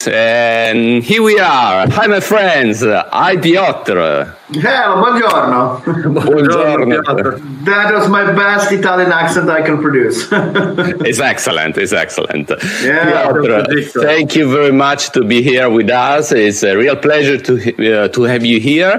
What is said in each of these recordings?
And here we are. Hi, my friends. Hi, Piotr. Hello, buongiorno. Buongiorno. That was my best Italian accent I can produce. It's excellent. It's excellent. Yeah, Piotr, thank you very much to be here with us. It's a real pleasure to have you here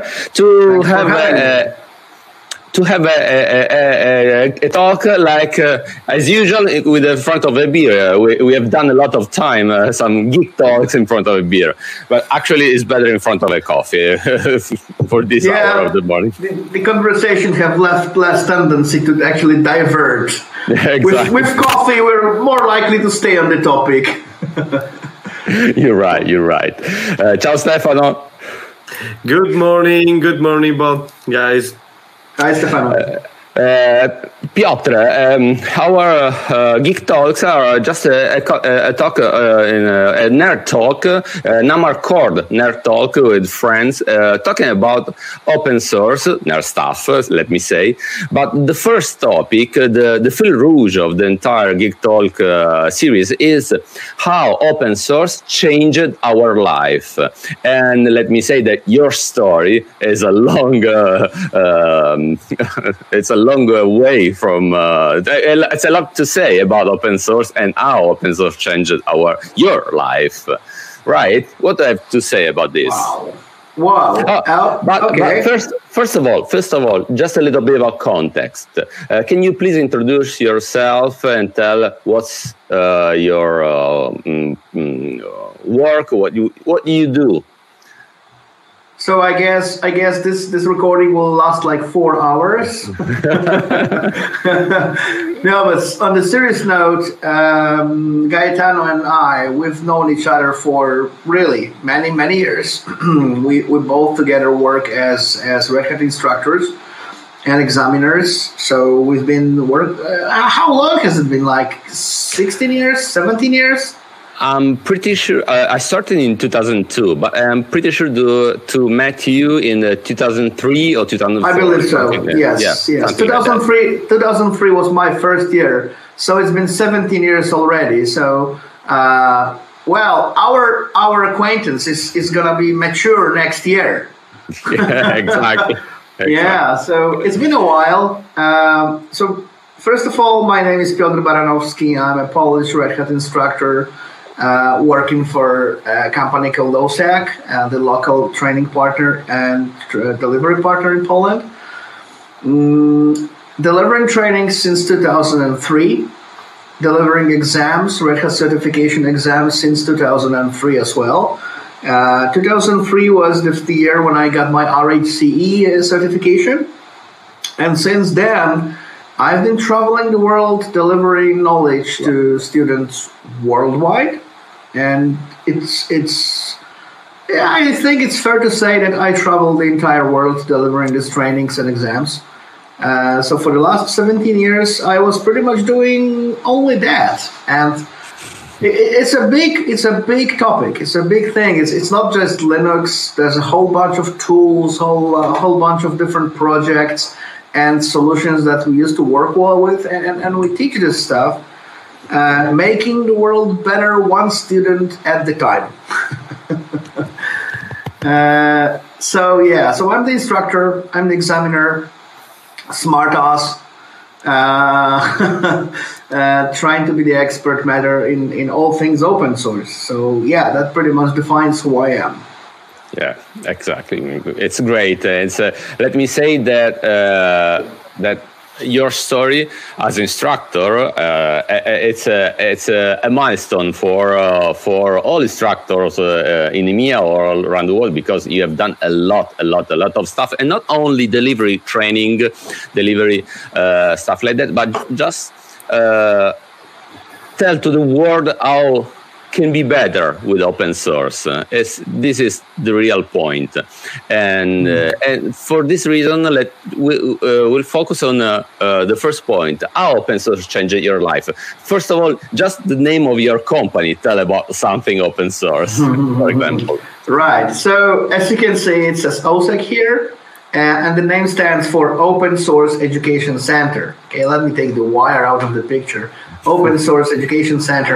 to have a talk like as usual with in front of a beer. We have done a lot of time, some geek talks in front of a beer, but actually it's better in front of a coffee for this hour of the morning. The conversation have less tendency to actually diverge. Exactly. With coffee, we're more likely to stay on the topic. You're right. Ciao Stefano. Good morning, Bob, guys. Hi, Stefano. Piotr, our Geek Talks are just a talk, a nerd talk, Namarcord nerd talk with friends, talking about open source, nerd stuff, let me say. But the first topic, the fil rouge of the entire Geek Talk series is how open source changed our life. And let me say that your story is a long, it's a long way from it's a lot to say about open source and how open source changed your life, right? What do I have to say about this? Wow. But first of all, just a little bit about context. Can you please introduce yourself and tell what's your work, what you do? So I guess this recording will last like 4 hours. No, but on the serious note, Gaetano and I, we've known each other for really many years. we both together work as Red Hat instructors and examiners. So we've been how long has it been? Like 16 years, 17 years? I'm pretty sure I started in 2002, but I'm pretty sure to met you in 2003 or 2004. I believe so. Yes. 2003 was my first year, so it's been 17 years already. So, our acquaintance is gonna be mature next year. Yeah, exactly. Yeah, so it's been a while. So first of all, my name is Piotr Baranowski. I'm a Polish Red Hat instructor. Working for a company called OSAC, the local training partner and delivery partner in Poland. Delivering training since 2003, delivering exams, Red Hat certification exams since 2003 as well. 2003 was the year when I got my RHCE certification. And since then, I've been traveling the world delivering knowledge to students worldwide, and I think it's fair to say that I traveled the entire world delivering these trainings and exams. So for the last 17 years, I was pretty much doing only that, and it's a big topic. It's a big thing. It's not just Linux. There's a whole bunch of tools, whole bunch of different projects and solutions that we used to work well with, and we teach this stuff, making the world better one student at the time. So I'm the instructor, I'm the examiner, smart ass, trying to be the expert matter in all things open source. So yeah, that pretty much defines who I am. Yeah, exactly. It's great. Let me say that that your story as instructor, it's a milestone for all instructors in EMEA or all around the world, because you have done a lot of stuff, and not only delivery training, stuff like that, but just tell to the world how can be better with open source. This is the real point, and for this reason, we'll focus on the first point: how open source changed your life. First of all, just the name of your company. Tell about something open source, for example. Right. So as you can see, it says OSAC here, and the name stands for Open Source Education Center. Okay, let me take the wire out of the picture. Open Source Education Center.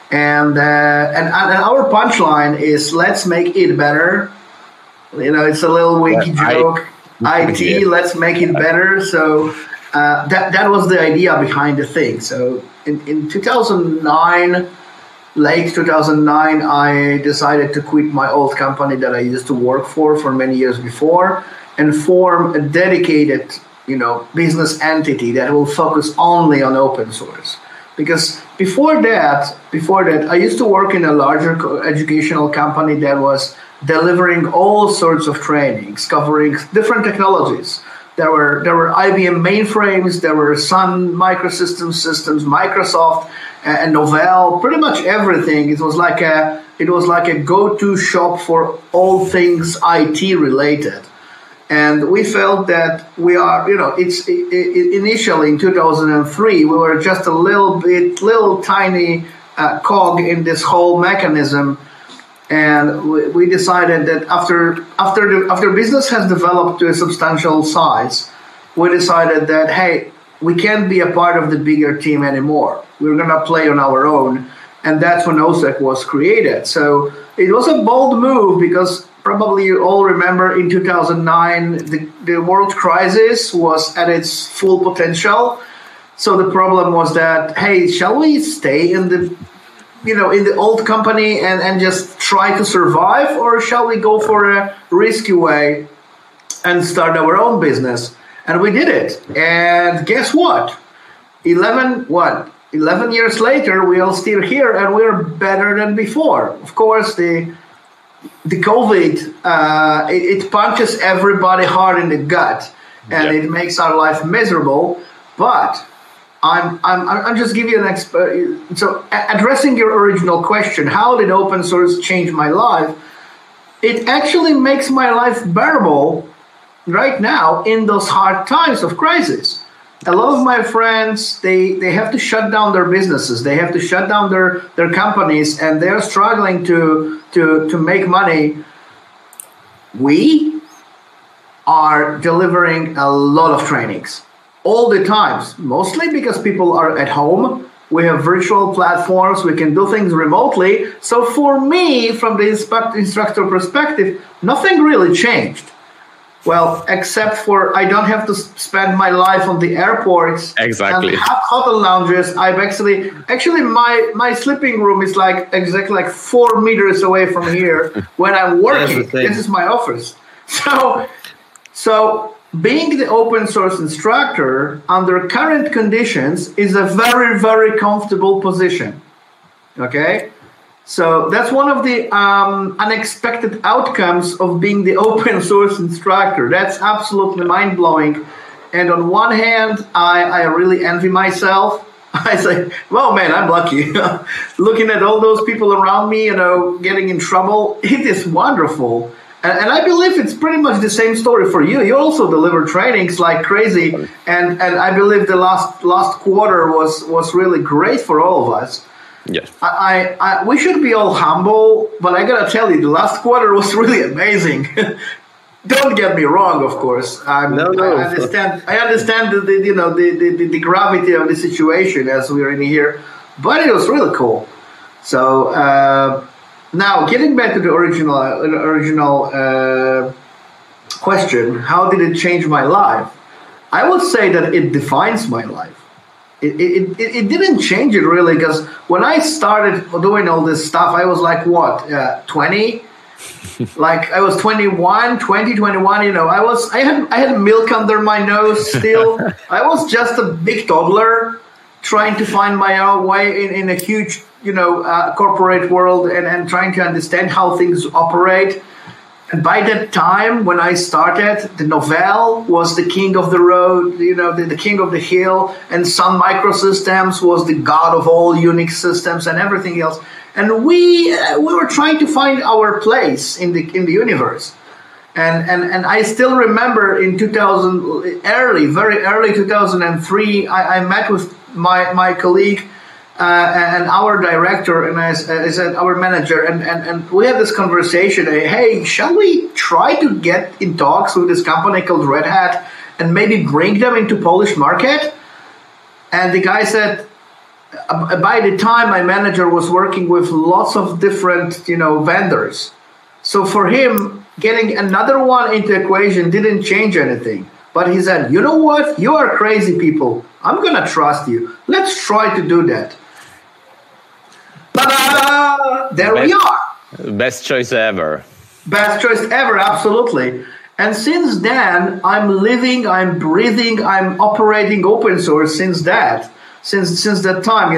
And our punchline is let's make it better. It's a little winky joke. IT, let's make it better. So that was the idea behind the thing. So in 2009, late 2009, I decided to quit my old company that I used to work for many years before, and form a dedicated, business entity that will focus only on open source. Because before that, I used to work in a larger educational company that was delivering all sorts of trainings, covering different technologies. There were IBM mainframes, there were Sun Microsystems systems, Microsoft, and Novell, pretty much everything. It was like a go-to shop for all things IT related. And we felt that we are, initially in 2003, we were just a little tiny cog in this whole mechanism. And we decided that after business has developed to a substantial size, we decided that, hey, we can't be a part of the bigger team anymore. We're going to play on our own. And that's when OSEC was created. So it was a bold move because probably you all remember in 2009, the world crisis was at its full potential. So the problem was that, hey, shall we stay in the old company and just try to survive, or shall we go for a risky way and start our own business? And we did it. And guess what? 11 years later, we are still here and we're better than before. Of course, the COVID, it punches everybody hard in the gut, and it makes our life miserable. But I'm just giving you so addressing your original question, how did open source change my life? It actually makes my life bearable right now in those hard times of crisis. A lot of my friends, they have to shut down their businesses, they have to shut down their companies, and they're struggling to make money. We are delivering a lot of trainings all the times, mostly because people are at home. We have virtual platforms, we can do things remotely. So for me, from the instructor perspective, nothing really changed. Well, except for I don't have to spend my life on the airports. Exactly. And hotel lounges. I've actually my sleeping room is exactly 4 meters away from here when I'm working. This is my office. So being the open source instructor under current conditions is a very, very comfortable position. Okay? So that's one of the unexpected outcomes of being the open source instructor. That's absolutely mind-blowing. And on one hand, I really envy myself. I say, well, man, I'm lucky. Looking at all those people around me, getting in trouble, it is wonderful. And I believe it's pretty much the same story for you. You also deliver trainings like crazy. And I believe the last quarter was really great for all of us. Yes. We should be all humble, but I gotta tell you, the last quarter was really amazing. Don't get me wrong, of course. No. I understand the gravity of the situation as we're in here, but it was really cool. So now, getting back to the original question, how did it change my life? I would say that it defines my life. It didn't change it really, because when I started doing all this stuff, I was 20? I was 21, I had milk under my nose still. I was just a big toddler trying to find my own way in a huge, corporate world and trying to understand how things operate. And by that time, when I started, the Novell was the king of the road, the king of the hill, and Sun Microsystems was the god of all Unix systems and everything else. And we were trying to find our place in the universe. And I still remember in very early 2003, I met with my colleague and our director, and I said our manager, and we had this conversation. Hey, shall we try to get in talks with this company called Red Hat and maybe bring them into Polish market? And the guy said, by the time my manager was working with lots of different, vendors. So for him, getting another one into equation didn't change anything. But he said, you know what? You are crazy people. I'm going to trust you. Let's try to do that. Ta-da! There we are. Best choice ever. Best choice ever, absolutely. And since then, I'm living, I'm breathing, I'm operating open source since that. Since that time,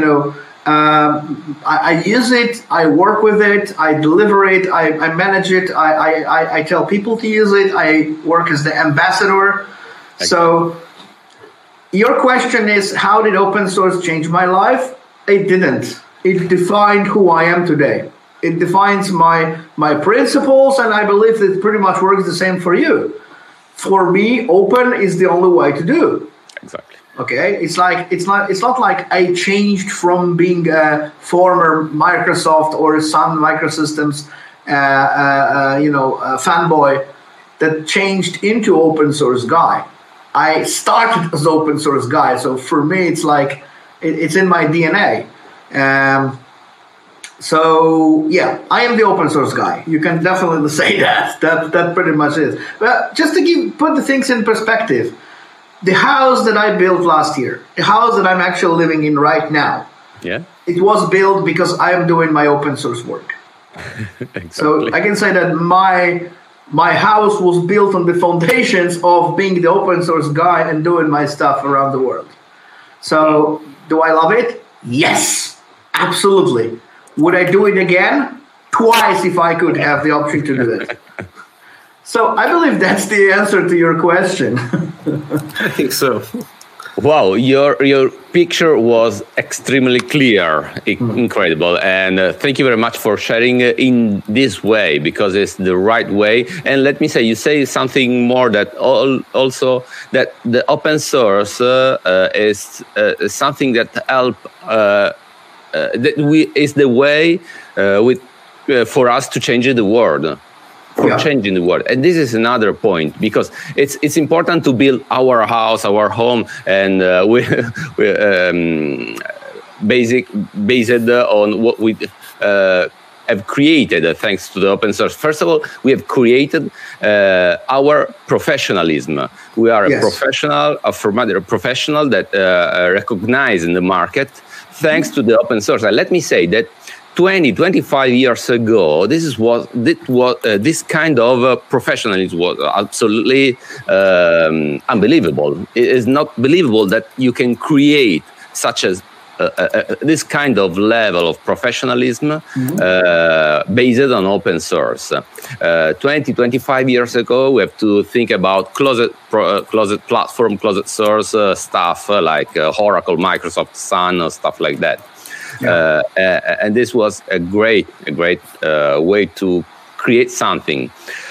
I use it, I work with it, I deliver it, I manage it, I tell people to use it, I work as the ambassador. So your question is, how did open source change my life? It didn't. It defined who I am today. It defines my principles, and I believe it pretty much works the same for you. For me, open is the only way to do. Exactly. Okay, it's not like I changed from being a former Microsoft or Sun Microsystems, fanboy that changed into open source guy. I started as open source guy, so for me, it's like it's in my DNA. So yeah, I am the open source guy. You can definitely say that. That pretty much is. But just to put the things in perspective, the house that I built last year, the house that I'm actually living in right now, it was built because I am doing my open source work. Exactly. So I can say that my house was built on the foundations of being the open source guy and doing my stuff around the world. So do I love it? Yes, absolutely. Would I do it again? Twice if I could have the option to do it. So I believe that's the answer to your question. I think so. Wow, your picture was extremely clear, incredible, and thank you very much for sharing in this way, because it's the right way. And let me say, you say something more that also that the open source is something that is the way for us to change the world. Changing the world. And this is another point, because it's important to build our house, our home, and based on what we have created thanks to the open source. First of all, we have created our professionalism. We are a professional, a professional that recognize in the market thanks to the open source. And let me say that 25 years ago, this kind of professionalism was absolutely unbelievable. It is not believable that you can create such as this kind of level of professionalism based on open source. 25 years ago, we have to think about closed platform, closed source stuff like Oracle, Microsoft, Sun, stuff like that. And this was a great way to create something.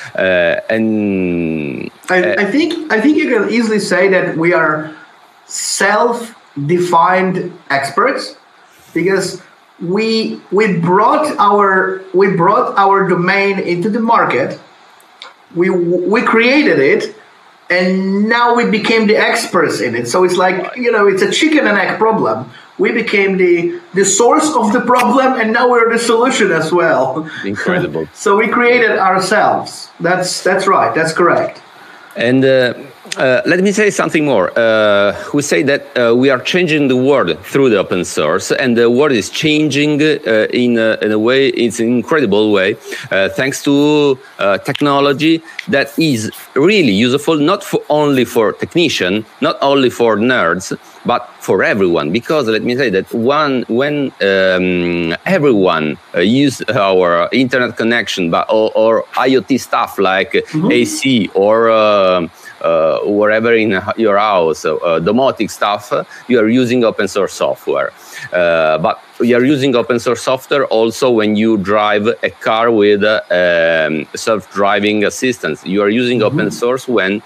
And I think you can easily say that we are self-defined experts, because we brought our domain into the market. We created it, and now we became the experts in it. So it's like, it's a chicken and egg problem. We became the source of the problem, and now we're the solution as well. Incredible. So we created ourselves. That's right. That's correct. And let me say something more. We say that we are changing the world through the open source, and the world is changing in a way, it's an incredible way, thanks to technology that is really useful, not only for technicians, not only for nerds, but for everyone. Because let me say that when everyone use our internet connection, or IoT stuff like AC or wherever in your house, domotic stuff, you are using open source software. But you are using open source software also when you drive a car with self-driving assistance. You are using open source when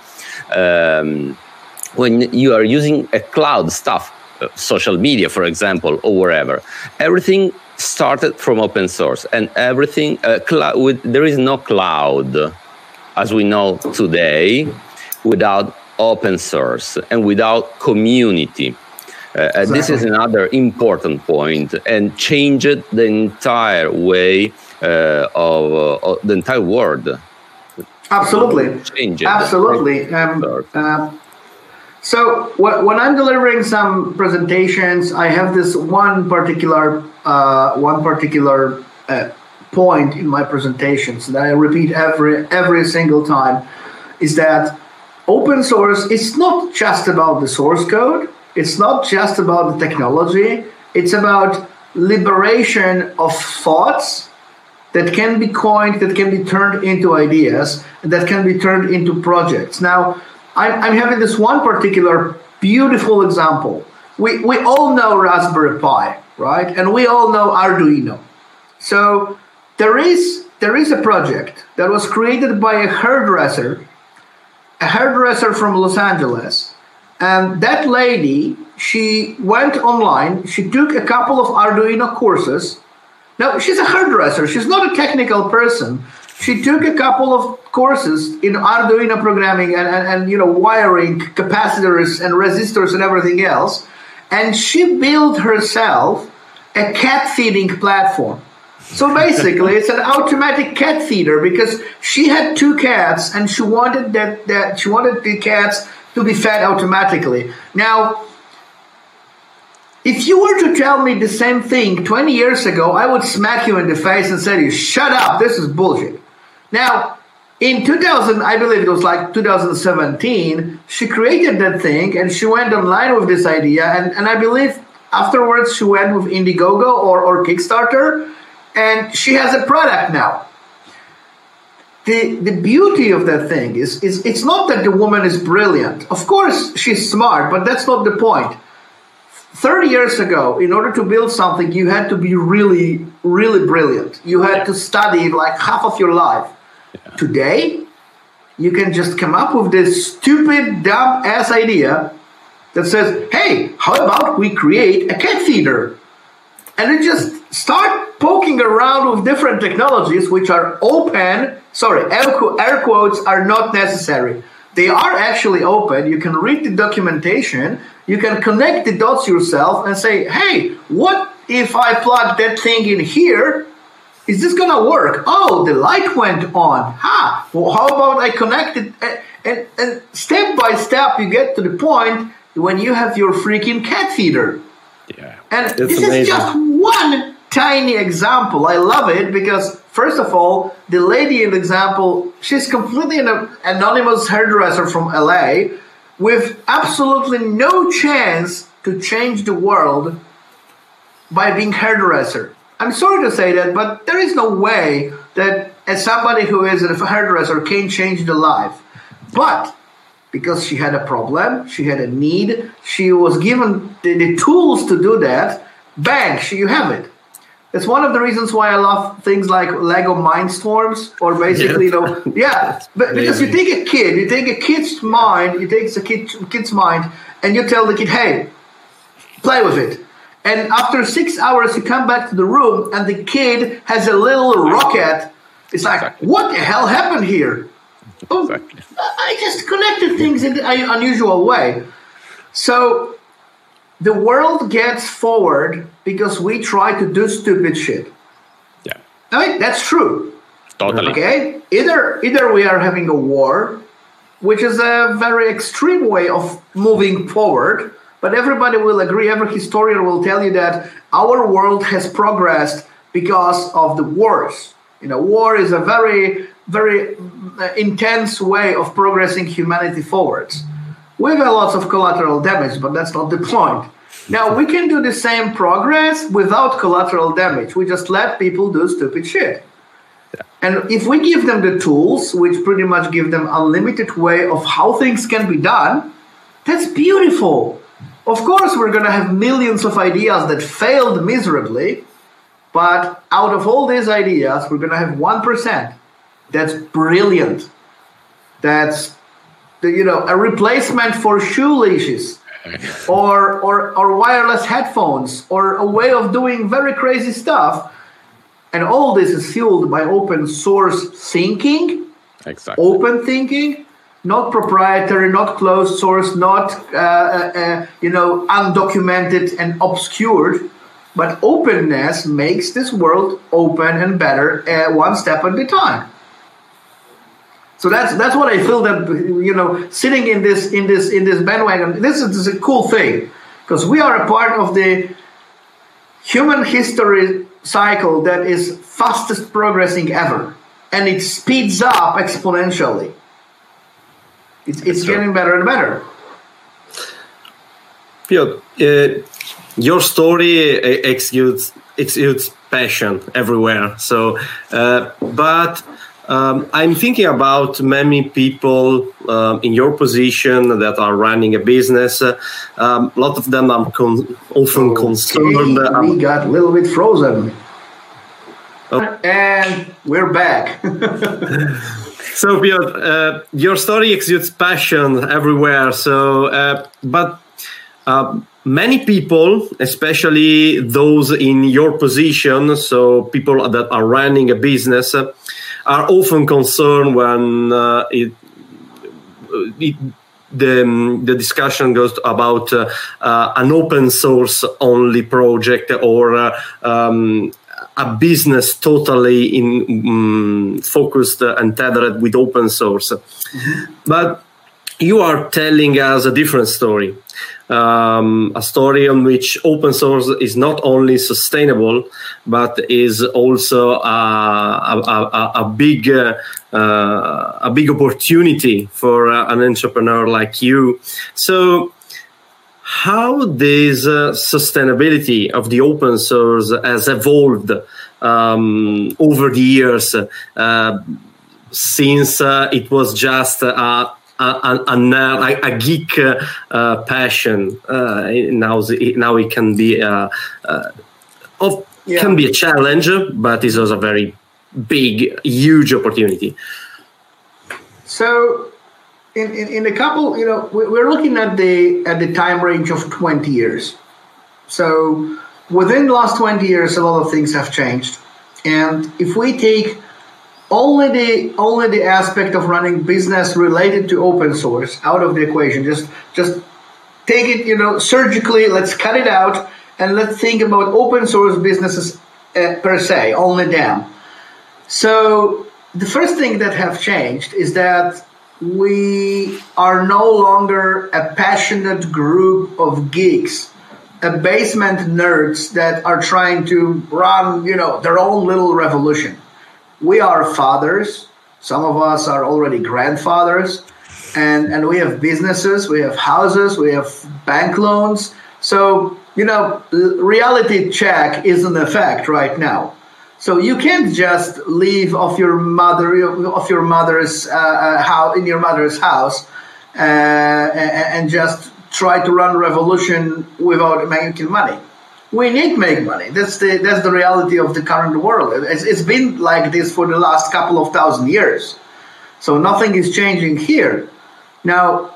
you are using a cloud stuff, social media, for example, or wherever. Everything started from open source, and everything there is no cloud as we know today without open source and without community. This is another important point, and changed the entire way of the entire world. Absolutely. Change it. Absolutely. So when I'm delivering some presentations, I have this one particular point in my presentations that I repeat every single time, is that open source is not just about the source code. It's not just about the technology. It's about liberation of thoughts that can be coined, that can be turned into ideas, that can be turned into projects. Now, I'm having this one particular beautiful example. We all know Raspberry Pi, right? And we all know Arduino. So there is a project that was created by a hairdresser from Los Angeles. And that lady, she went online, she took a couple of Arduino courses. Now, she's a hairdresser, she's not a technical person. She took a couple of courses in Arduino programming and wiring, capacitors and resistors and everything else. And she built herself a cat feeding platform. So basically, it's an automatic cat feeder because she had 2 cats and she wanted she wanted the cats to be fed automatically. Now, if you were to tell me the same thing 20 years ago, I would smack you in the face and say, shut up, this is bullshit. Now, in 2000, I believe it was like 2017, she created that thing and she went online with this idea. And I believe afterwards she went with Indiegogo or Kickstarter, and she has a product now. The beauty of that thing is it's not that the woman is brilliant. Of course, she's smart, but that's not the point. 30 years ago, in order to build something, you had to be really, really brilliant. You had to study like half of your life. Yeah. Today, you can just come up with this stupid, dumb-ass idea that says, hey, how about we create a cat feeder? And then just start poking around with different technologies which are open. Sorry, air quotes are not necessary. They are actually open. You can read the documentation. You can connect the dots yourself and say, hey, what if I plug that thing in here? Is this going to work? Oh, the light went on. Well, how about I connect it? And step by step, you get to the point when you have your freaking cat feeder. Yeah, and this is just one tiny example. I love it because, first of all, the lady in the example, she's completely an anonymous hairdresser from LA with absolutely no chance to change the world by being hairdresser. I'm sorry to say that, but there is no way that as somebody who is a hairdresser can change the life. But because she had a problem, she had a need, she was given the tools to do that, bang, you have it. That's one of the reasons why I love things like Lego Mindstorms, or basically, but because you take a kid's mind, and you tell the kid, hey, play with it. And after 6 hours, you come back to the room, and the kid has a little rocket. It's like, what the hell happened here? Exactly. Oh, I just connected things in an unusual way. So the world gets forward because we try to do stupid shit. Yeah. I mean, that's true. Totally. Okay? Either we are having a war, which is a very extreme way of moving forward, but everybody will agree, every historian will tell you that our world has progressed because of the wars. War is a very, very intense way of progressing humanity forwards. We've had lots of collateral damage, but that's not the point. Now, we can do the same progress without collateral damage. We just let people do stupid shit. Yeah. And if we give them the tools, which pretty much give them unlimited way of how things can be done, that's beautiful. Of course, we're going to have millions of ideas that failed miserably, but out of all these ideas, we're going to have 1% that's brilliant. That's a replacement for shoe leashes, or wireless headphones, or a way of doing very crazy stuff. And all this is fueled by open source thinking, open thinking, not proprietary, not closed source, not undocumented and obscured, but openness makes this world open and better one step at a time. So that's what I feel that sitting in this bandwagon. This is a cool thing because we are a part of the human history cycle that is fastest progressing ever, and it speeds up exponentially. It's getting better and better. Piotr, your story exudes passion everywhere. So, but I'm thinking about many people in your position that are running a business. A lot of them are often concerned. We got a little bit frozen. And we're back. So, Piotr, your story exudes passion everywhere. So, but many people, especially those in your position, so people that are running a business, are often concerned when the discussion goes about an open source only project or a business totally focused and tethered with open source. Mm-hmm. But you are telling us a different story. A story on which open source is not only sustainable, but is also a big opportunity for an entrepreneur like you. So, how this sustainability of the open source has evolved over the years, since it was just a geek passion. Now it can be can be a challenge, but it's also a very big, huge opportunity. So, in a couple, we're looking at the time range of 20 years. So, within the last 20 years, a lot of things have changed, and if we take only the aspect of running business related to open source out of the equation, just take it, surgically, let's cut it out, and let's think about open source businesses per se, only them. So the first thing that have changed is that we are no longer a passionate group of geeks, a basement nerds that are trying to run, their own little revolution. We are fathers. Some of us are already grandfathers, and we have businesses, we have houses, we have bank loans. So, reality check is in effect right now. So you can't just leave your mother's house in your mother's house and just try to run a revolution without making money. We need to make money. That's the reality of the current world. It's been like this for the last couple of thousand years. So nothing is changing here. Now,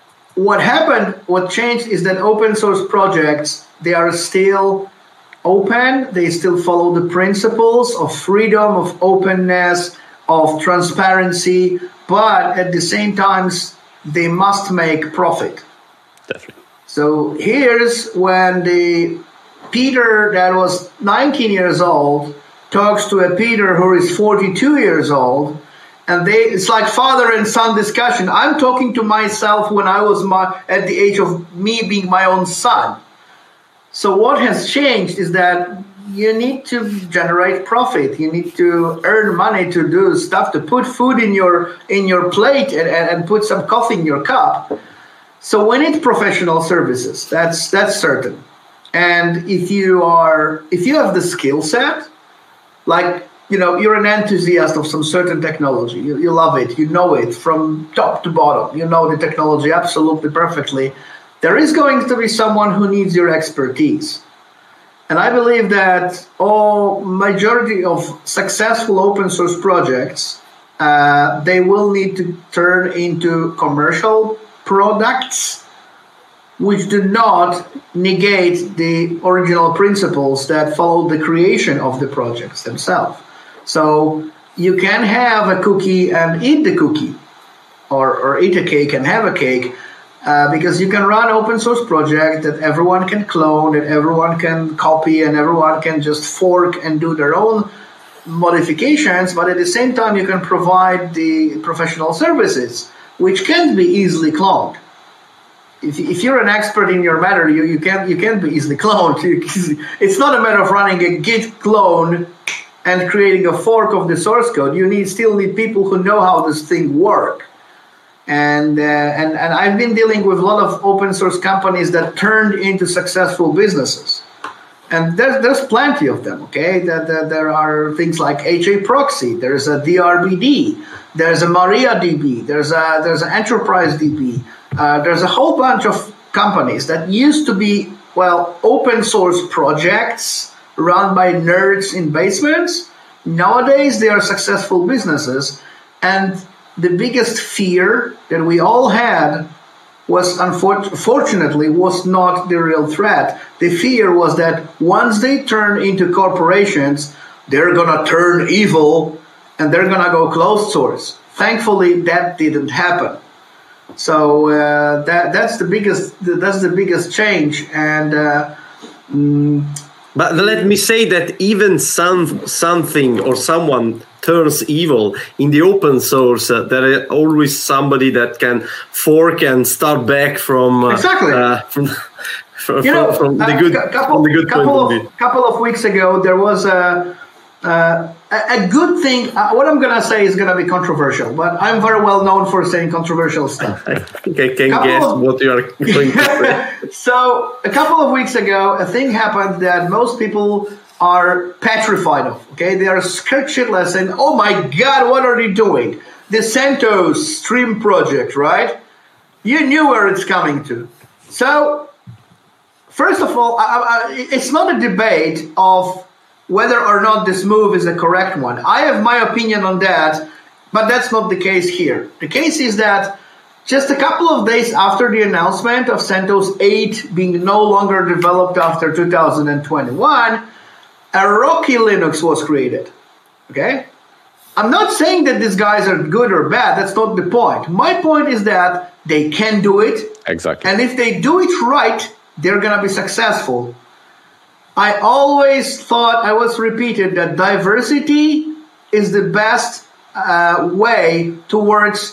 what changed is that open source projects, they are still open. They still follow the principles of freedom, of openness, of transparency, but at the same time, they must make profit. Definitely. So here's when the Peter that was 19 years old talks to a Peter who is 42 years old, and it's like father and son discussion. I'm talking to myself when I was at the age of me being my own son. So what has changed is that you need to generate profit. You need to earn money to do stuff, to put food in your plate and put some coffee in your cup. So we need professional services. That's certain. And if you have the skill set, like, you're an enthusiast of some certain technology, you love it, you know it from top to bottom, you know the technology absolutely perfectly, there is going to be someone who needs your expertise. And I believe that majority of successful open source projects, they will need to turn into commercial products, which do not negate the original principles that follow the creation of the projects themselves. So you can have a cookie and eat the cookie. or eat a cake and have a cake, because you can run open source project that everyone can clone, that everyone can copy, and everyone can just fork and do their own modifications, but at the same time you can provide the professional services, which can't be easily cloned. If you're an expert in your matter, you can't be easily cloned. It's not a matter of running a Git clone and creating a fork of the source code. You still need people who know how this thing works. And I've been dealing with a lot of open source companies that turned into successful businesses. And there's plenty of them, okay? There are things like HA Proxy, there's a DRBD, there's a MariaDB, there's an Enterprise DB. There's a whole bunch of companies that used to be, open source projects run by nerds in basements. Nowadays, they are successful businesses. And the biggest fear that we all had was, unfortunately, was not the real threat. The fear was that once they turn into corporations, they're going to turn evil and they're going to go closed source. Thankfully, that didn't happen. So that's the biggest change. And but let me say that even something or someone turns evil in the open source, there is always somebody that can fork and start back from exactly from the good point of view. Couple of weeks ago, there was a good thing. What I'm going to say is going to be controversial, but I'm very well known for saying controversial stuff. I think I can guess what you are going to say. So a couple of weeks ago, a thing happened that most people are petrified of. Okay, they are scared shitless and, oh my God, what are they doing? The CentOS Stream project, right? You knew where it's coming to. So first of all, it's not a debate of whether or not this move is a correct one. I have my opinion on that, but that's not the case here. The case is that just a couple of days after the announcement of CentOS 8 being no longer developed after 2021, a Rocky Linux was created. Okay? I'm not saying that these guys are good or bad. That's not the point. My point is that they can do it. Exactly. And if they do it right, they're going to be successful. I always thought, I was repeated, that diversity is the best way towards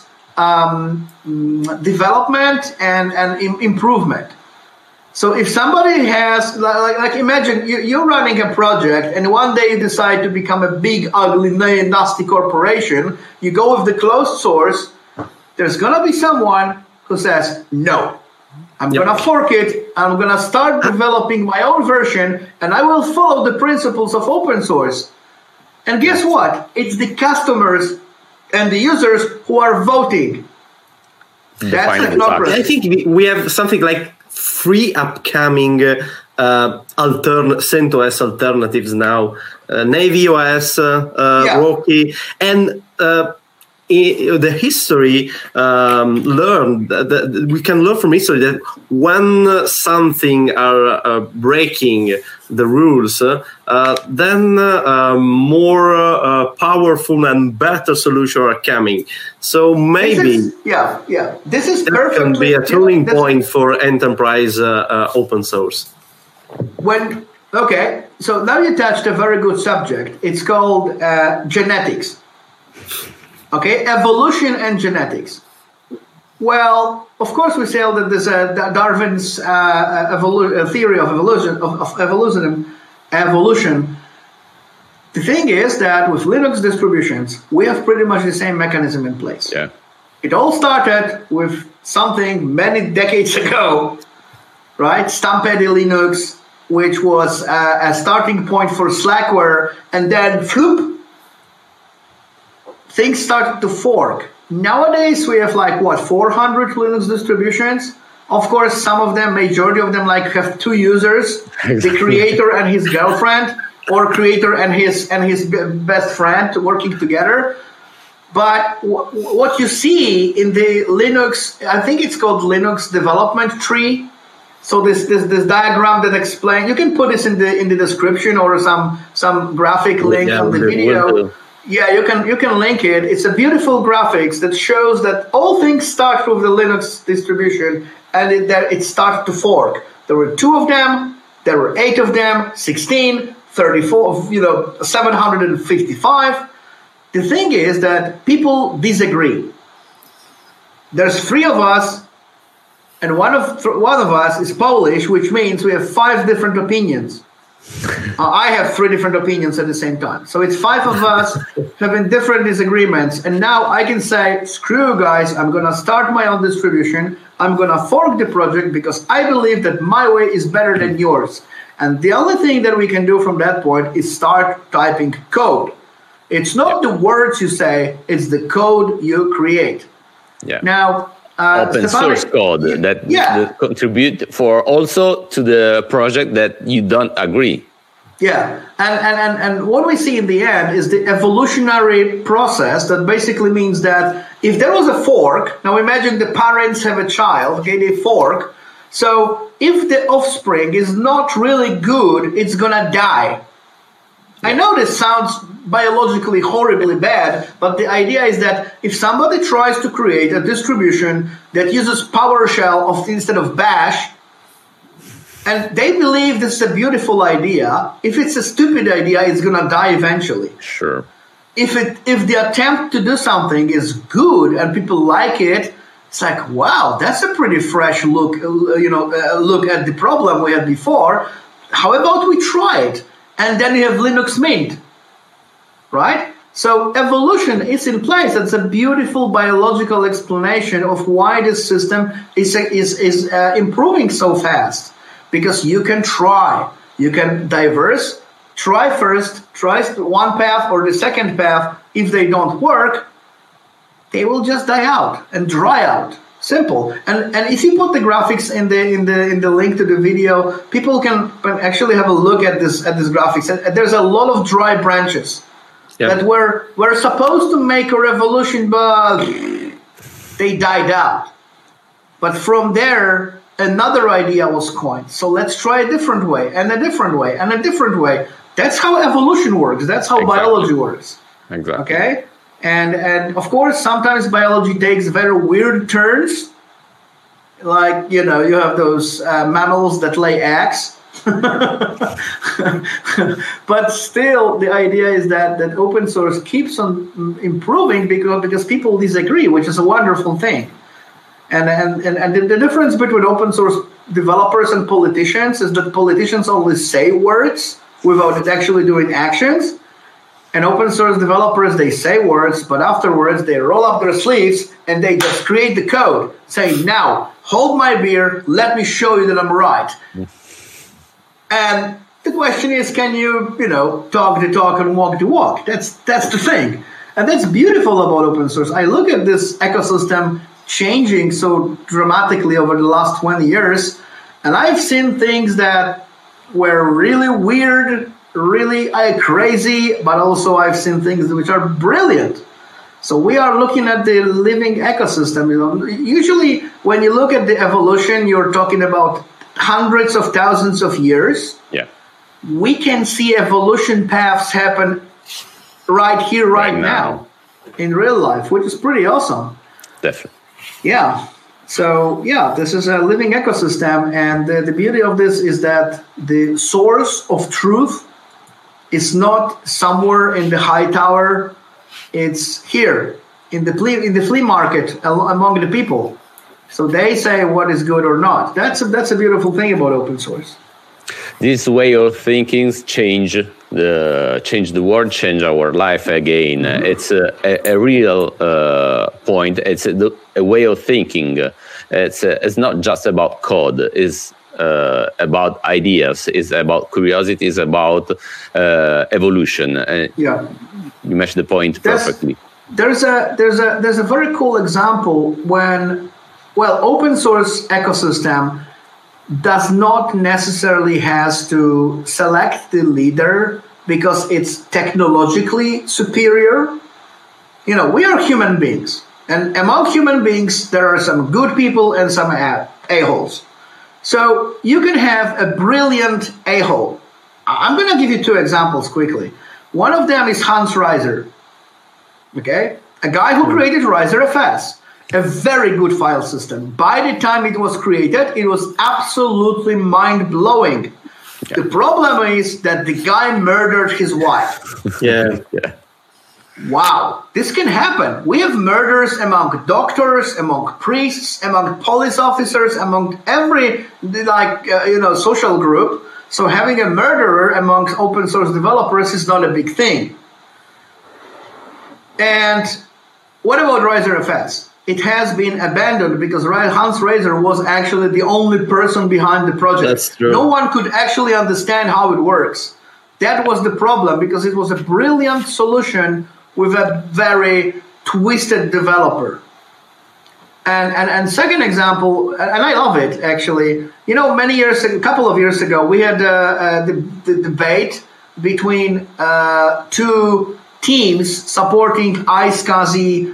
development and improvement. So if somebody has, like imagine you're running a project and one day you decide to become a big, ugly, nasty corporation, you go with the closed source, there's going to be someone who says, no. I'm going to fork it, I'm going to start developing my own version, and I will follow the principles of open source. And guess what? It's the customers and the users who are voting. That's technocracy. I think we have something like 3 upcoming CentOS alternatives now. Navy OS, Rocky, and the history learned that we can learn from history that when something are breaking the rules, then more powerful and better solutions are coming. So maybe this is that can be a turning point for enterprise open source. So now you touched a very good subject. It's called genetics. Okay, evolution and genetics. Well, of course, we say that there's Darwin's theory of evolution. The thing is that with Linux distributions, we have pretty much the same mechanism in place. Yeah. It all started with something many decades ago, right? Stampede Linux, which was a starting point for Slackware, and then floop, things started to fork. Nowadays, we have 400 Linux distributions. Of course, some of them, majority of them, have 2 users, the creator and his girlfriend, or creator and his best friend working together. But what you see in the Linux, I think it's called Linux development tree. So this diagram that explains, you can put this in the description or some graphic link on the video. Yeah, you can link it. It's a beautiful graphics that shows that all things start with the Linux distribution, and it started to fork. There were 2 of them, there were 8 of them, 16, 34, 755. The thing is that people disagree. There's 3 of us, and one of us is Polish, which means we have 5 different opinions. I have 3 different opinions at the same time. So it's 5 of us having different disagreements. And now I can say, screw you guys, I'm going to start my own distribution. I'm going to fork the project because I believe that my way is better than yours. And the only thing that we can do from that point is start typing code. It's not the words you say, it's the code you create. Yeah. Now, open source code that contribute for also to the project that you don't agree. Yeah, and what we see in the end is the evolutionary process that basically means that if there was a fork, now imagine the parents have a child, okay, they fork. So if the offspring is not really good, it's gonna die. I know this sounds biologically horribly bad, but the idea is that if somebody tries to create a distribution that uses PowerShell instead of Bash, and they believe this is a beautiful idea, if it's a stupid idea, it's going to die eventually. Sure. If the attempt to do something is good and people like it, it's like, wow, that's a pretty fresh look, look at the problem we had before. How about we try it? And then you have Linux Mint, right? So evolution is in place. That's a beautiful biological explanation of why this system is improving so fast. Because you can try, you can try first, try one path or the second path. If they don't work, they will just die out and dry out. Simple. And if you put the graphics in the link to the video, people can actually have a look at this graphics. And there's a lot of dry branches that were supposed to make a revolution, but they died out. But from there, another idea was coined. So let's try a different way, and a different way, and a different way. That's how evolution works. That's how biology works. Exactly. Okay? And of course, sometimes biology takes very weird turns. Like, you have those mammals that lay eggs. But still, the idea is that open source keeps on improving because people disagree, which is a wonderful thing. And the difference between open source developers and politicians is that politicians only say words without actually doing actions. And open source developers, they say words, but afterwards they roll up their sleeves and they just create the code, saying, now, hold my beer, let me show you that I'm right. And the question is, can you, talk the talk and walk the walk? That's the thing. And that's beautiful about open source. I look at this ecosystem changing so dramatically over the last 20 years, and I've seen things that were really weird, really crazy, but also I've seen things which are brilliant. So we are looking at the living ecosystem. Usually when you look at the evolution, you're talking about hundreds of thousands of years. Yeah. We can see evolution paths happen right here, right now, in real life, which is pretty awesome. Definitely. Yeah. So, this is a living ecosystem. And the beauty of this is that the source of truth is not somewhere in the high tower. It's here in the flea market among the people. So they say what is good or not. That's a beautiful thing about open source. This way of thinking change the world, change our life again. Mm-hmm. It's a real point. It's a way of thinking. It's not just about code. It's about ideas. It's about curiosity. It's about evolution. You mentioned the point perfectly. There's a very cool example when open source ecosystem does not necessarily has to select the leader because it's technologically superior. We are human beings, and among human beings there are some good people and some a-holes. So you can have a brilliant a-hole. I'm going to give you 2 examples quickly. One of them is Hans Reiser. Okay? A guy who created RiserFS, a very good file system. By the time it was created, it was absolutely mind-blowing. The problem is that the guy murdered his wife. Yeah. Wow, this can happen. We have murders among doctors, among priests, among police officers, among every social group. So having a murderer amongst open source developers is not a big thing. And what about RiserFS? It has been abandoned because Hans Reiser was actually the only person behind the project. That's true. No one could actually understand how it works. That was the problem, because it was a brilliant solution with a very twisted developer. And second example, and I love it actually. A couple of years ago, we had the debate between two teams supporting iSCSI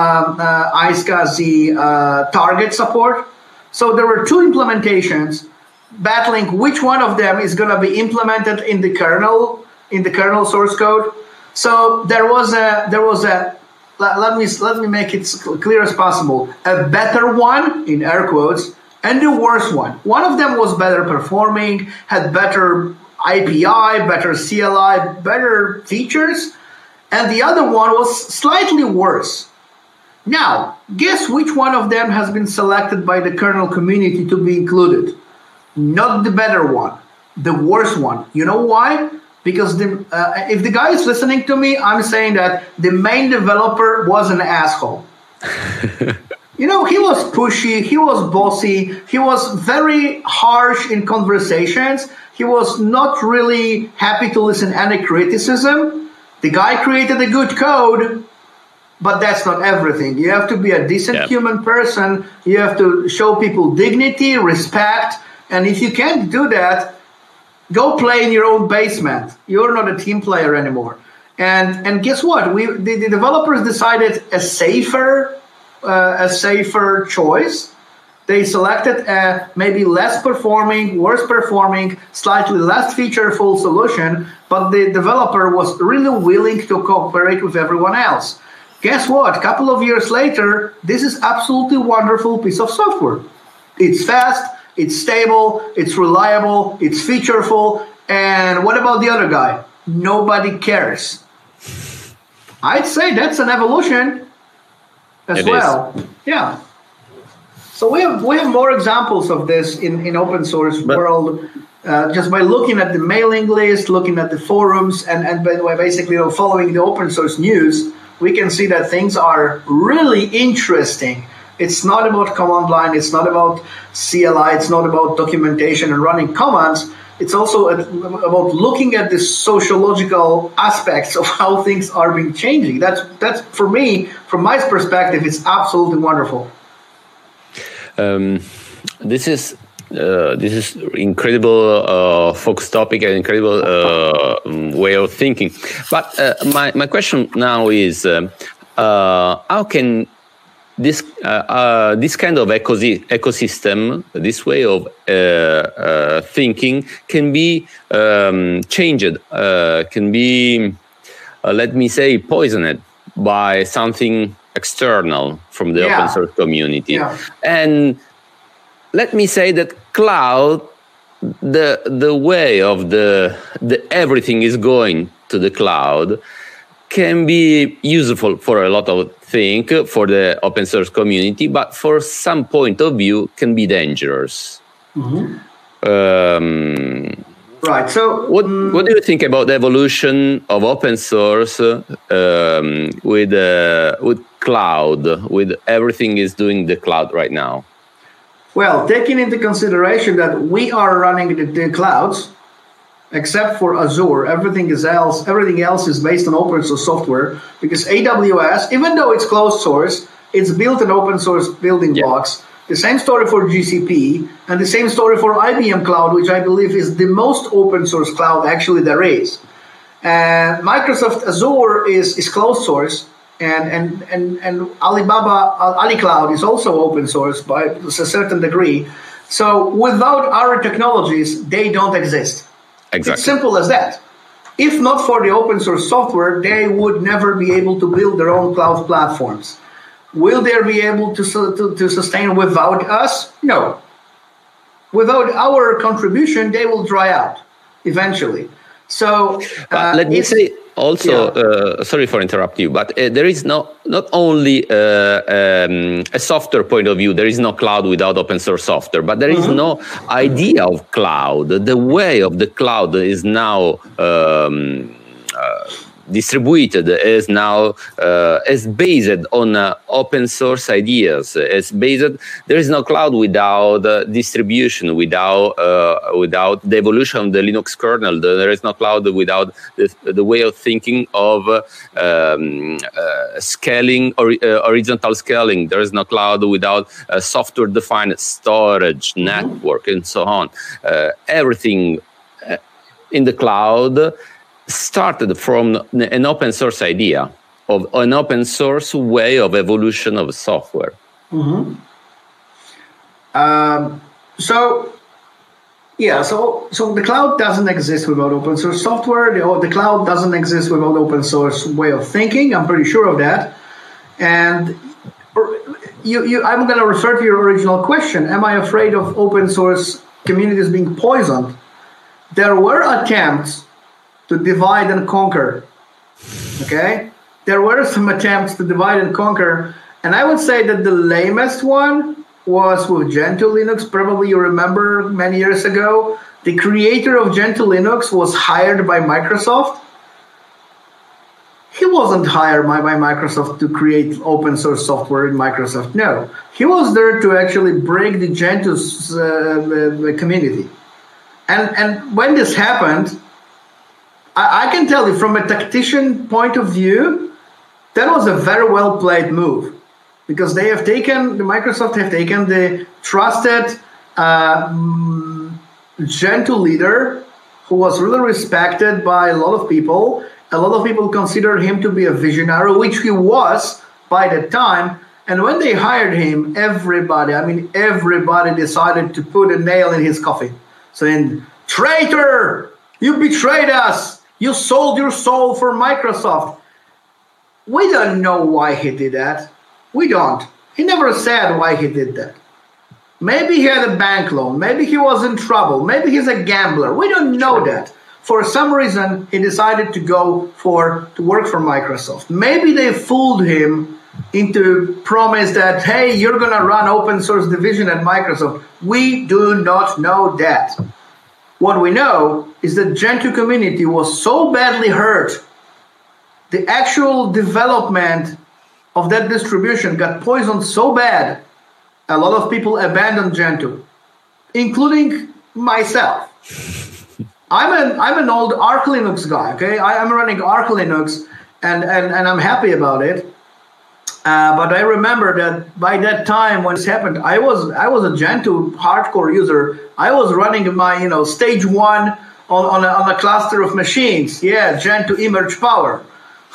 target support. So there were two implementations battling which one of them is going to be implemented in the kernel source code. So there was a let me make it clear as possible, a better one in air quotes and the worse one. One of them was better performing, had better IPI, better CLI, better features, and the other one was slightly worse. Now, guess which one of them has been selected by the kernel community to be included? Not the better one, the worse one. You know why? Because if the guy is listening to me, I'm saying that the main developer was an asshole. He was pushy, he was bossy, he was very harsh in conversations. He was not really happy to listen to any criticism. The guy created a good code, but that's not everything. You have to be a decent human person. You have to show people dignity, respect. And if you can't do that, go play in your own basement. You're not a team player anymore. And guess what? The developers decided a safer choice. They selected a maybe less performing, worse performing, slightly less featureful solution, but the developer was really willing to cooperate with everyone else. Guess what? A couple of years later, this is absolutely wonderful piece of software. It's fast, it's stable, it's reliable, it's featureful, and what about the other guy? Nobody cares. I'd say that's an evolution as well. Yeah. So we have more examples of this in open source world, just by looking at the mailing list, looking at the forums, and by basically following the open source news. We can see that things are really interesting. It's not about command line, it's not about CLI, it's not about documentation and running commands. It's also about looking at the sociological aspects of how things are being changing. That's for me, from my perspective, it's absolutely wonderful. This is incredible focus topic and incredible way of thinking. But my question now is, how can this kind of ecosystem, this way of thinking, can be changed, can be, let me say, poisoned by something external from the open source community? And let me say that cloud, the way of the everything is going to the cloud, can be useful for a lot of things for the open source community, but for some point of view can be dangerous. Mm-hmm. Right. So, what do you think about the evolution of open source with cloud, with everything is doing the cloud right now? Well, taking into consideration that we are running the clouds, except for Azure, everything else is based on open source software, because AWS, even though it's closed source, it's built in open source building blocks. The same story for GCP, and the same story for IBM Cloud, which I believe is the most open source cloud actually there is. And Microsoft Azure is closed source, and Ali Cloud is also open source by a certain degree. So without our technologies, they don't exist. Exactly. It's simple as that. If not for the open source software, they would never be able to build their own cloud platforms. Will they be able to sustain without us? No. Without our contribution, they will dry out eventually. So let me say also, sorry for interrupting you, but there is not only a software point of view. There is no cloud without open source software, but there is no idea of cloud. The way of the cloud is now distributed, is now is based on open source ideas. It's based. There is no cloud without distribution, without the evolution of the Linux kernel. There is no cloud without the way of thinking of scaling or horizontal scaling. There is no cloud without software-defined storage network and so on. Everything in the cloud started from an open source idea of an open source way of evolution of software. Mm-hmm. So the cloud doesn't exist without open source software. The cloud doesn't exist without open source way of thinking. I'm pretty sure of that. And I'm going to refer to your original question. Am I afraid of open source communities being poisoned? There were attempts to divide and conquer. Okay? There were some attempts to divide and conquer. And I would say that the lamest one was with Gentoo Linux. Probably you remember many years ago, the creator of Gentoo Linux was hired by Microsoft. He wasn't hired by Microsoft to create open source software in Microsoft. No. He was there to actually break the Gentoo community. And when this happened, I can tell you from a tactician point of view, that was a very well played move, because Microsoft have taken the trusted Gentoo leader who was really respected by a lot of people. A lot of people considered him to be a visionary, which he was by the time. And when they hired him, everybody decided to put a nail in his coffin, saying, "Traitor! You betrayed us! You sold your soul for Microsoft." We don't know why he did that. We don't. He never said why he did that. Maybe he had a bank loan. Maybe he was in trouble. Maybe he's a gambler. We don't know that. For some reason, he decided to work for Microsoft. Maybe they fooled him into promise that, hey, you're going to run open source division at Microsoft. We do not know that. What we know is that Gentoo community was so badly hurt, the actual development of that distribution got poisoned so bad, a lot of people abandoned Gentoo, including myself. I'm an old Arch Linux guy, okay? I'm running Arch Linux, and I'm happy about it. But I remember that by that time when this happened, I was a Gentoo hardcore user. I was running my stage 1 on a cluster of machines. Yeah, Gentoo eMerge Power.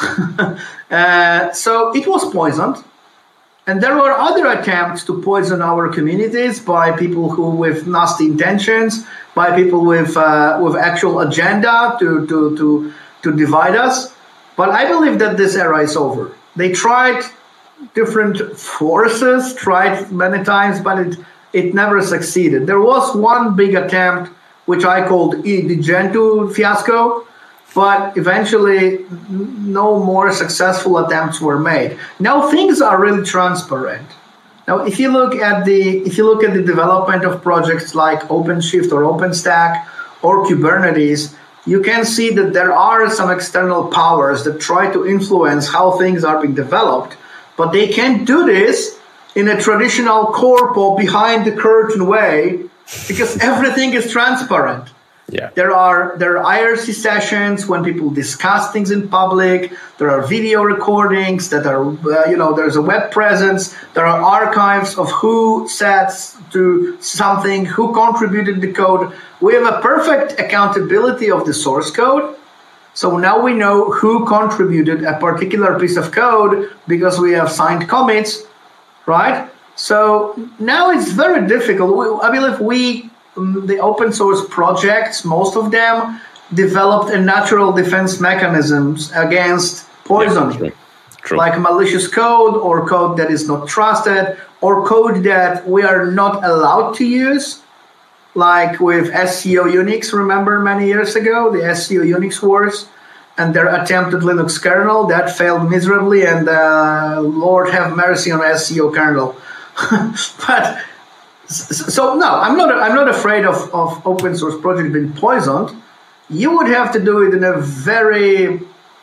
So it was poisoned, and there were other attempts to poison our communities by people who with nasty intentions, by people with actual agenda to divide us. But I believe that this era is over. They tried. Different forces tried many times, but it never succeeded. There was one big attempt, which I called the Gentoo fiasco, but eventually no more successful attempts were made. Now things are really transparent. Now, if you look at the development of projects like OpenShift or OpenStack or Kubernetes, you can see that there are some external powers that try to influence how things are being developed. But they can't do this in a traditional corpo behind the curtain way, because everything is transparent. Yeah. There are IRC sessions when people discuss things in public. There are video recordings that are, there's a web presence. There are archives of who said to something, who contributed the code. We have a perfect accountability of the source code. So now we know who contributed a particular piece of code because we have signed commits, right? So now it's very difficult. I believe the open source projects, most of them, developed a natural defense mechanisms against poison. Yeah, true. Like malicious code or code that is not trusted or code that we are not allowed to use, like with SCO Unix, remember many years ago, the SCO Unix wars and their attempted Linux kernel that failed miserably, and Lord have mercy on SCO kernel. But so no, I'm not afraid of open source project being poisoned. You would have to do it in a very,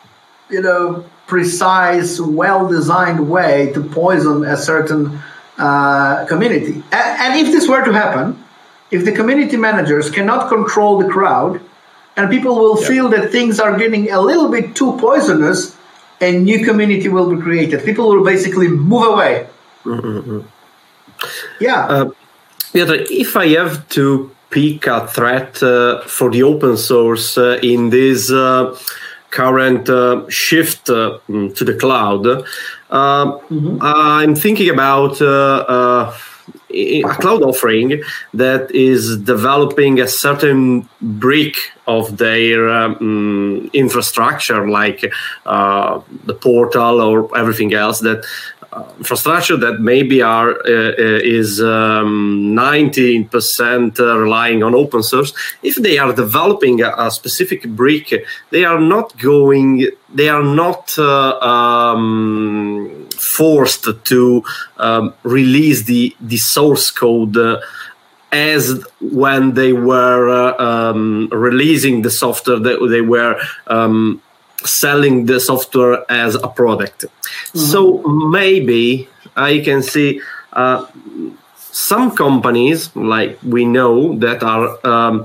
precise, well-designed way to poison a certain community. And if this were to happen, if the community managers cannot control the crowd, and people will feel that things are getting a little bit too poisonous, a new community will be created. People will basically move away. Mm-hmm. Yeah. Piotr, if I have to pick a threat for the open source in this current shift to the cloud, I'm thinking about a cloud offering that is developing a certain brick of their infrastructure, like the portal or everything else, that infrastructure that maybe is 19% relying on open source. If they are developing a specific brick, they are not forced to release the source code as when they were releasing the software, they were selling the software as a product. So maybe I can see some companies, like we know, that are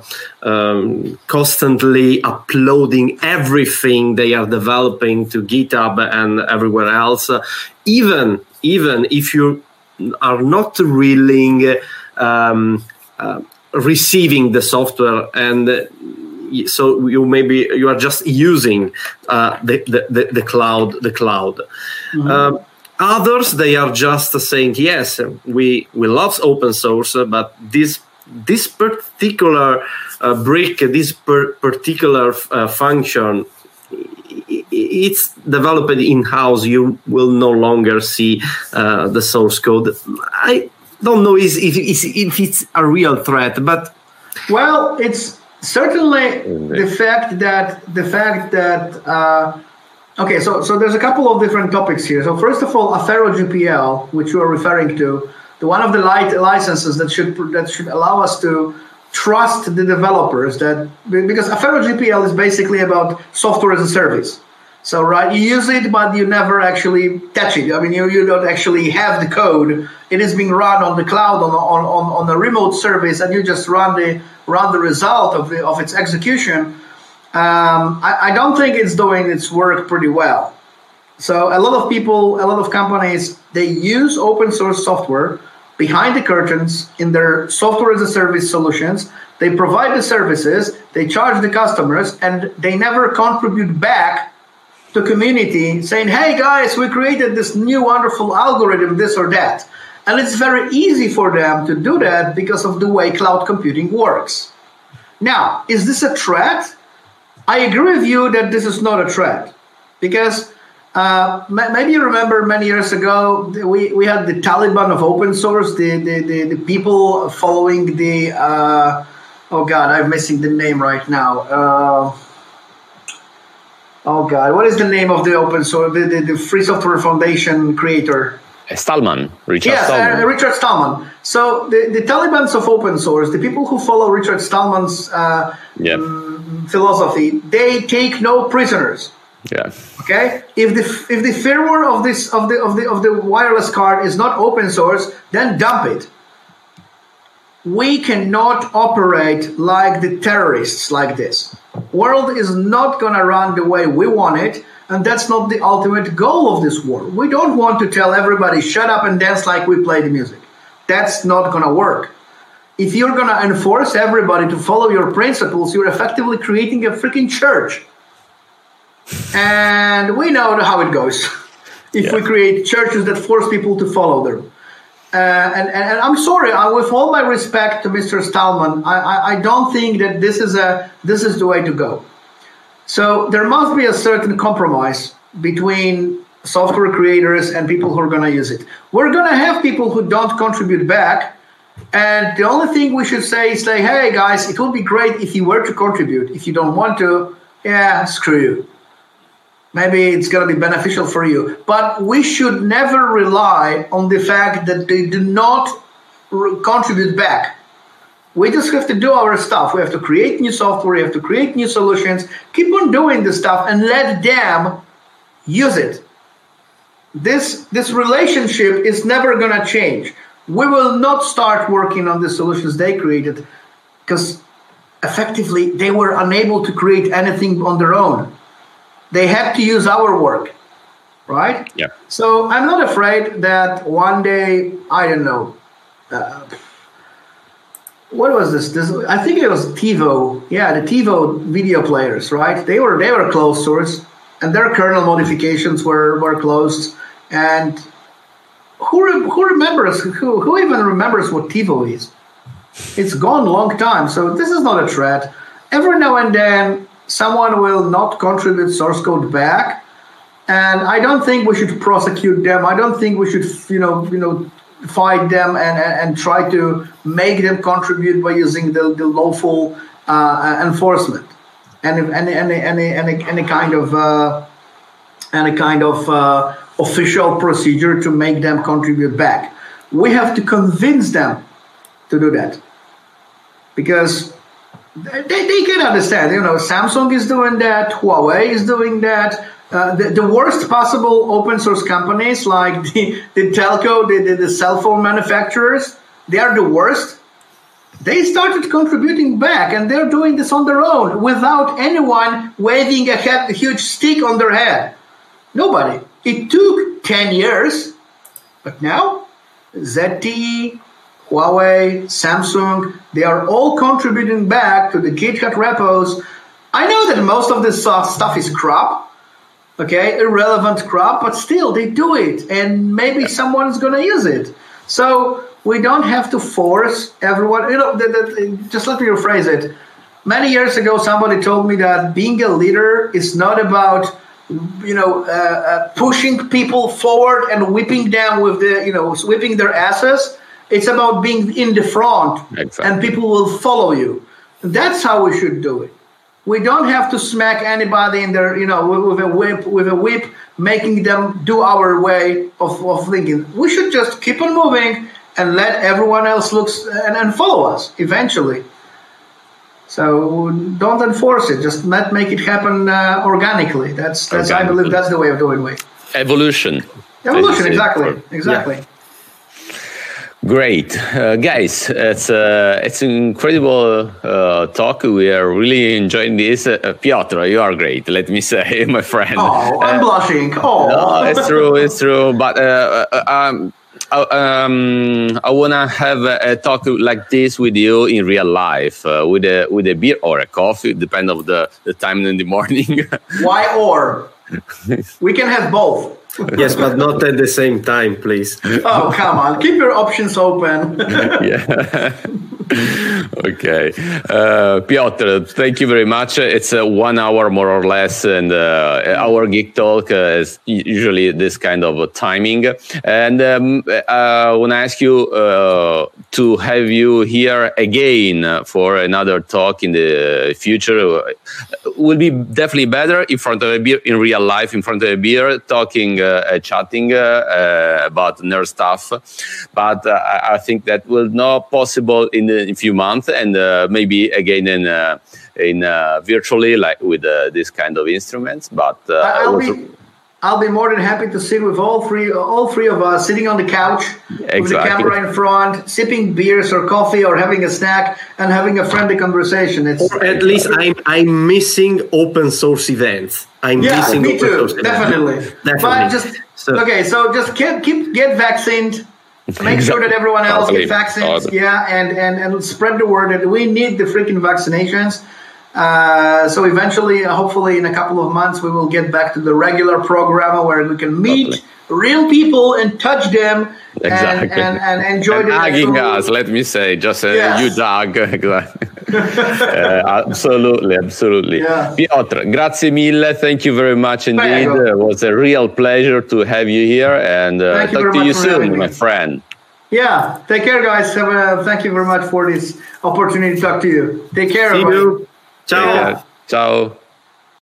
constantly uploading everything they are developing to GitHub and everywhere else, even if you are not really receiving the software, and so you are just using the cloud. Others, they are just saying, yes, we love open source, but this particular brick, this particular function, it's developed in-house. You will no longer see the source code. I don't know if it's a real threat, but well, it's certainly the fact that okay, so there's a couple of different topics here. So first of all, Affero GPL, which you are referring to, the one of the licenses that should allow us to trust the developers, that because Affero GPL is basically about software as a service. So right, you use it, but you never actually touch it. I mean, you don't actually have the code. It is being run on the cloud on a remote service, and you just run the result of its execution. I don't think it's doing its work pretty well. So a lot of people, a lot of companies, they use open source software behind the curtains in their software as a service solutions. They provide the services, they charge the customers, and they never contribute back to community saying, hey guys, we created this new wonderful algorithm, this or that. And it's very easy for them to do that because of the way cloud computing works. Now, is this a threat? I agree with you that this is not a threat, because maybe you remember many years ago we had the Taliban of open source, the people following the oh god, I'm missing the name right now. Oh god, what is the name of the open source, the Free Software Foundation creator? Stallman, Richard Stallman. Richard Stallman. So the Talibans of open source, the people who follow Richard Stallman's philosophy, they take no prisoners. Yeah. Okay. If the firmware of the wireless card is not open source, then dump it. We cannot operate like the terrorists like this. World is not going to run the way we want it, and that's not the ultimate goal of this war. We don't want to tell everybody, shut up and dance like we play the music. That's not going to work. If you're going to enforce everybody to follow your principles, you're effectively creating a freaking church. And we know how it goes if we create churches that force people to follow them. And I'm sorry, with all my respect to Mr. Stallman, I don't think that this is the way to go. So there must be a certain compromise between software creators and people who are going to use it. We're going to have people who don't contribute back. And the only thing we should say is like, hey, guys, it would be great if you were to contribute. If you don't want to, yeah, screw you. Maybe it's going to be beneficial for you. But we should never rely on the fact that they do not contribute back. We just have to do our stuff. We have to create new software. We have to create new solutions. Keep on doing this stuff and let them use it. This relationship is never going to change. We will not start working on the solutions they created because effectively they were unable to create anything on their own. They had to use our work, right? Yeah. So I'm not afraid that one day, I don't know, what was this? I think it was TiVo. Yeah, the TiVo video players, right? They were closed source, and their kernel modifications were closed. And who remembers? Who even remembers what TiVo is? It's gone a long time. So this is not a threat. Every now and then, someone will not contribute source code back, and I don't think we should prosecute them. I don't think we should, fight them and try to make them contribute by using the lawful enforcement and any kind of official procedure to make them contribute back. We have to convince them to do that because they can understand. Samsung is doing that. Huawei is doing that. The worst possible open source companies like the telco, the cell phone manufacturers, they are the worst. They started contributing back, and they're doing this on their own without anyone waving a huge stick on their head. Nobody. It took 10 years, but now ZTE, Huawei, Samsung, they are all contributing back to the GitHub repos. I know that most of this stuff is crap. Okay, irrelevant crap, but still they do it, and maybe someone is going to use it. So we don't have to force everyone. Just let me rephrase it. Many years ago, somebody told me that being a leader is not about pushing people forward and whipping them with whipping their asses. It's about being in the front, exactly. And people will follow you. That's how we should do it. We don't have to smack anybody in their, with a whip, making them do our way of thinking. We should just keep on moving and let everyone else look and follow us eventually. So don't enforce it. Just make it happen organically. That's I believe that's the way of doing it. Evolution. Exactly. Yeah. Great, guys! It's an incredible talk. We are really enjoying this. Piotr, you are great. Let me say, my friend. Oh, I'm blushing. Oh, no, it's true. But I wanna have a talk like this with you in real life, with a beer or a coffee, depending on the time in the morning. Why or? We can have both. Yes, but not at the same time, please. Oh, come on. Keep your options open. Yeah. Okay. Piotr, thank you very much. It's 1 hour more or less, and our Geek Talk is usually this kind of timing. And I want to ask you to have you here again for another talk in the future. Will be definitely better in front of a beer, in real life, in front of a beer, talking, chatting about nerd stuff. But I think that will not possible in a few months, and maybe again in virtually, like with this kind of instruments. But I'll be more than happy to sit with all three of us sitting on the couch, exactly, with the camera in front, sipping beers or coffee or having a snack and having a friendly conversation. Or at least I'm missing open source events. Missing me too, definitely. But just get vaccinated. Make sure that everyone else gets vaccines. Yeah, and spread the word that we need the freaking vaccinations. So eventually, hopefully in a couple of months, we will get back to the regular program where we can meet real people and touch them and enjoy them. Hugging us, let me say, just a huge hug. Absolutely. Yeah. Piotr, grazie mille. Thank you very much indeed. It was a real pleasure to have you here, and talk to you soon, my friend. Yeah, take care, guys. Thank you very much for this opportunity to talk to you. Take care. See you. Ciao. Ciao.